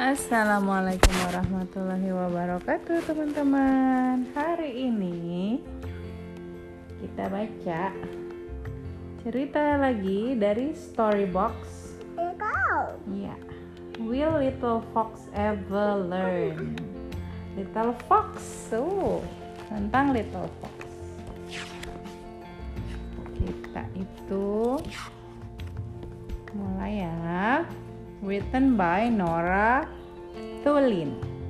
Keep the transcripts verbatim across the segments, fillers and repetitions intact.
Assalamualaikum warahmatullahi wabarakatuh, teman-teman. Hari ini kita baca cerita lagi dari Storybox. Ya, Will Little Fox Ever Learn? Little Fox, so tentang Little Fox. Kita itu mulai ya. Written by Nora Thulin.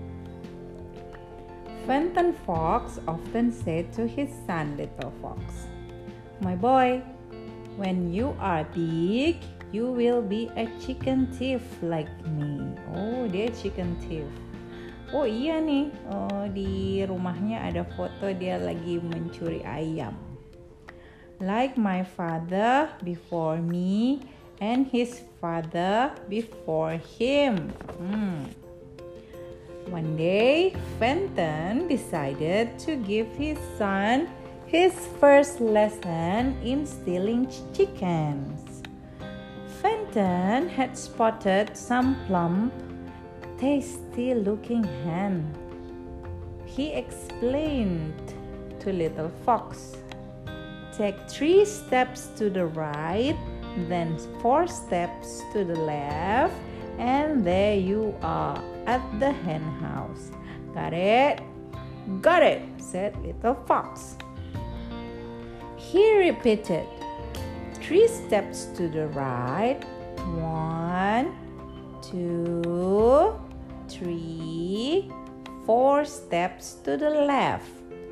Fenton Fox often said to his son Little Fox, "My boy, when you are big, you will be a chicken thief like me." Oh, dia chicken thief. Oh iya nih, oh, di rumahnya ada foto dia lagi mencuri ayam. Like my father before me, and his father before him. Hmm. One day, Fenton decided to give his son his first lesson in stealing chickens. Fenton had spotted some plump, tasty-looking hen. He explained to Little Fox, "Take three steps to the right, then four steps to the left, and there you are at the hen house." Got it? Got it, said Little Fox. He repeated, three steps to the right, one, two, three, four steps to the left,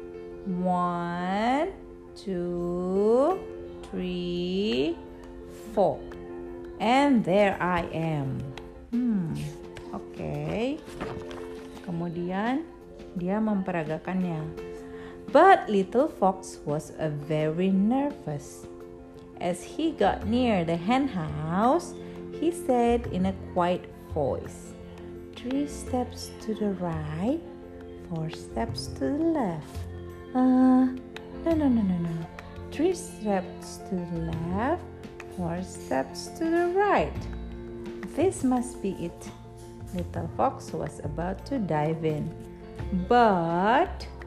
one, two, three, four, and there I am. Hmm, oke. Okay. Kemudian dia memperagakannya. But Little Fox was a very nervous. As he got near the hen house, he said in a quiet voice, "Three steps to the right, four steps to the left. Uh, no, no, no, no, no. Three steps to the left, four steps to the right. This must be it." Little Fox was about to dive in, but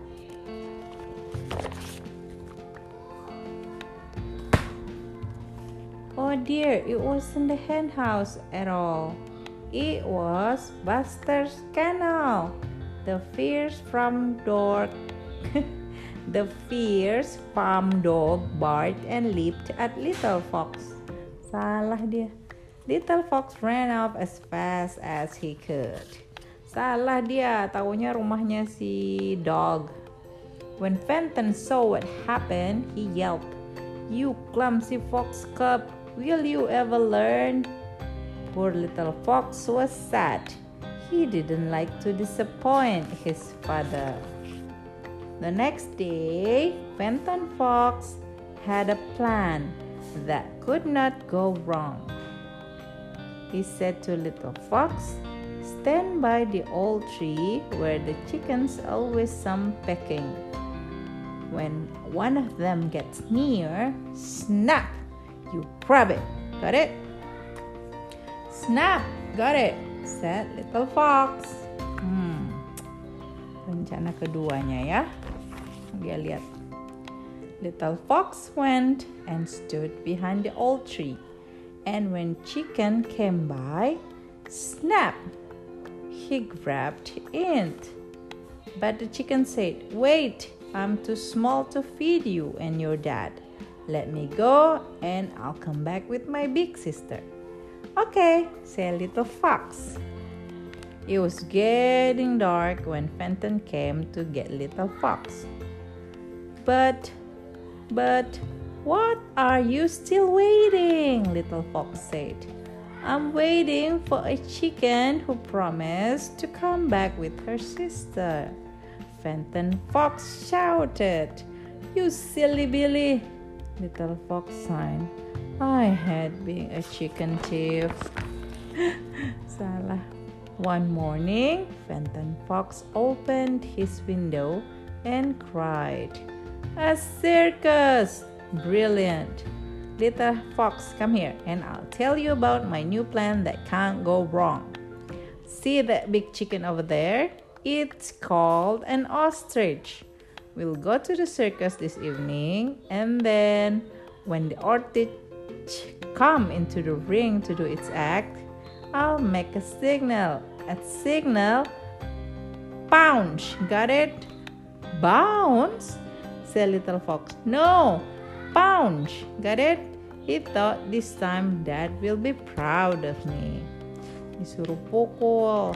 oh dear, it wasn't the hen house at all. It was Buster's kennel. The fierce farm dog The fierce farm dog barked and leaped at Little Fox. Salah dia. Little Fox ran off as fast as he could. Salah dia, taunya rumahnya si dog. When Fenton saw what happened, he yelled, "You clumsy fox cub, will you ever learn?" Poor Little Fox was sad. He didn't like to disappoint his father. The next day, Fenton Fox had a plan that could not go wrong. He said to Little Fox, "Stand by the old tree where the chickens always come pecking. When one of them gets near, snap, you grab it. Got it?" "Snap, got it," said Little Fox. Hmm. Rencana keduanya ya. Dia lihat. Little Fox went and stood behind the old tree. And when chicken came by, snap, he grabbed it. But the chicken said, "Wait, I'm too small to feed you and your dad. Let me go and I'll come back with my big sister." "Okay," said Little Fox. It was getting dark when Fenton came to get Little Fox. But, but, what are you still waiting?" Little Fox said. "I'm waiting for a chicken who promised to come back with her sister." Fenton Fox shouted. "You silly Billy!" Little Fox sighed. "I had been a chicken thief." Salah. One morning, Fenton Fox opened his window and cried, "A circus! Brilliant! Little Fox, come here and I'll tell you about my new plan that can't go wrong." See that big chicken over there? It's called an ostrich. We'll go to the circus this evening, and then when the ostrich come into the ring to do its act, I'll make a signal. At signal, pounce. Got it? Bounce? Said little fox. No, pounce. Got it? He thought this time Dad will be proud of me. Disuruh pukul.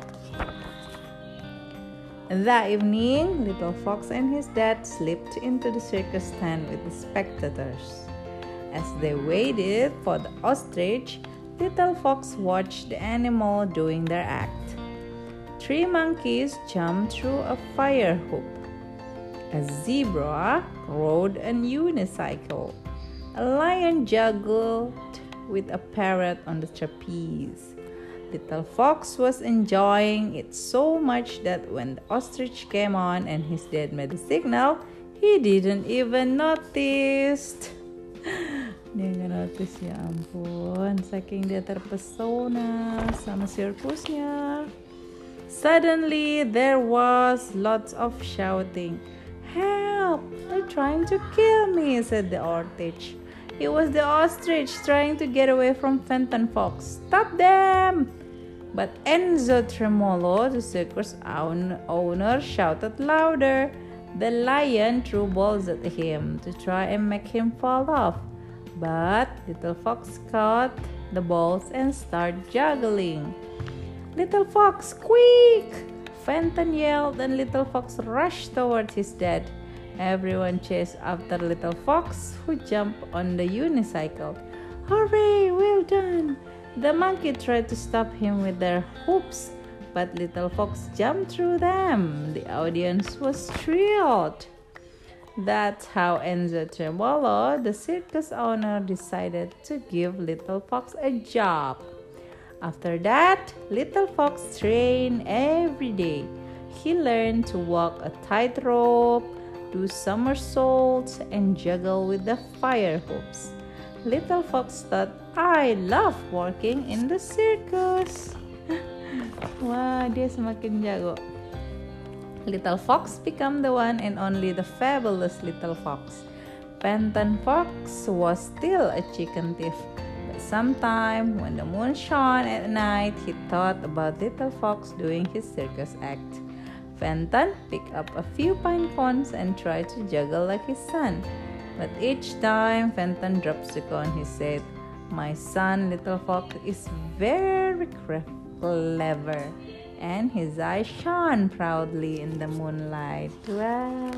That evening, little fox and his dad slipped into the circus tent with the spectators. As they waited for the ostrich, little fox watched the animal doing their act. Three monkeys jumped through a fire hoop. A zebra rode a unicycle. A lion juggled with a parrot on the trapeze. Little fox was enjoying it so much that when the ostrich came on and his dad made a signal, he didn't even notice. Dia nggak notice, ya ampun, saking dia terpesona sama sirkusnya. Suddenly there was lots of shouting. Help! They're trying to kill me, said the ostrich. It was the ostrich trying to get away from Fenton Fox. Stop them! But Enzo Tremolo, the circus owner, shouted louder. The lion threw balls at him to try and make him fall off. But little fox caught the balls and started juggling. Little fox, quick! Fenton yelled and little fox rushed toward his dad. Everyone chased after little fox, who jumped on the unicycle. Hooray, well done! The monkey tried to stop him with their hoops, but little fox jumped through them. The audience was thrilled. That's how Enzo Tremolo, the circus owner, decided to give little fox a job. After that, little fox trained every day. He learned to walk a tightrope, do somersaults, and juggle with the fire hoops. Little fox thought, I love working in the circus. Wah, dia semakin jago. Little fox became the one and only the fabulous little fox. Fenton Fox was still a chicken thief. But sometime when the moon shone at night, he thought about little fox doing his circus act. Fenton picked up a few pine cones and tried to juggle like his son. But each time Fenton drops the cone, he said, My son, little fox, is very clever. And his eyes shone proudly in the moonlight. Wow.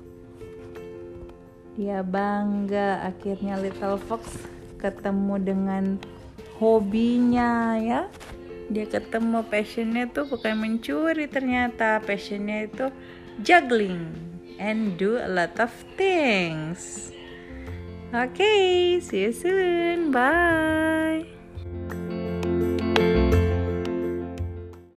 Dia bangga akhirnya little fox ketemu dengan hobinya, ya. Dia ketemu passionnya tuh bukan mencuri, ternyata passionnya itu juggling and do a lot of things. Okay, see you soon. Bye.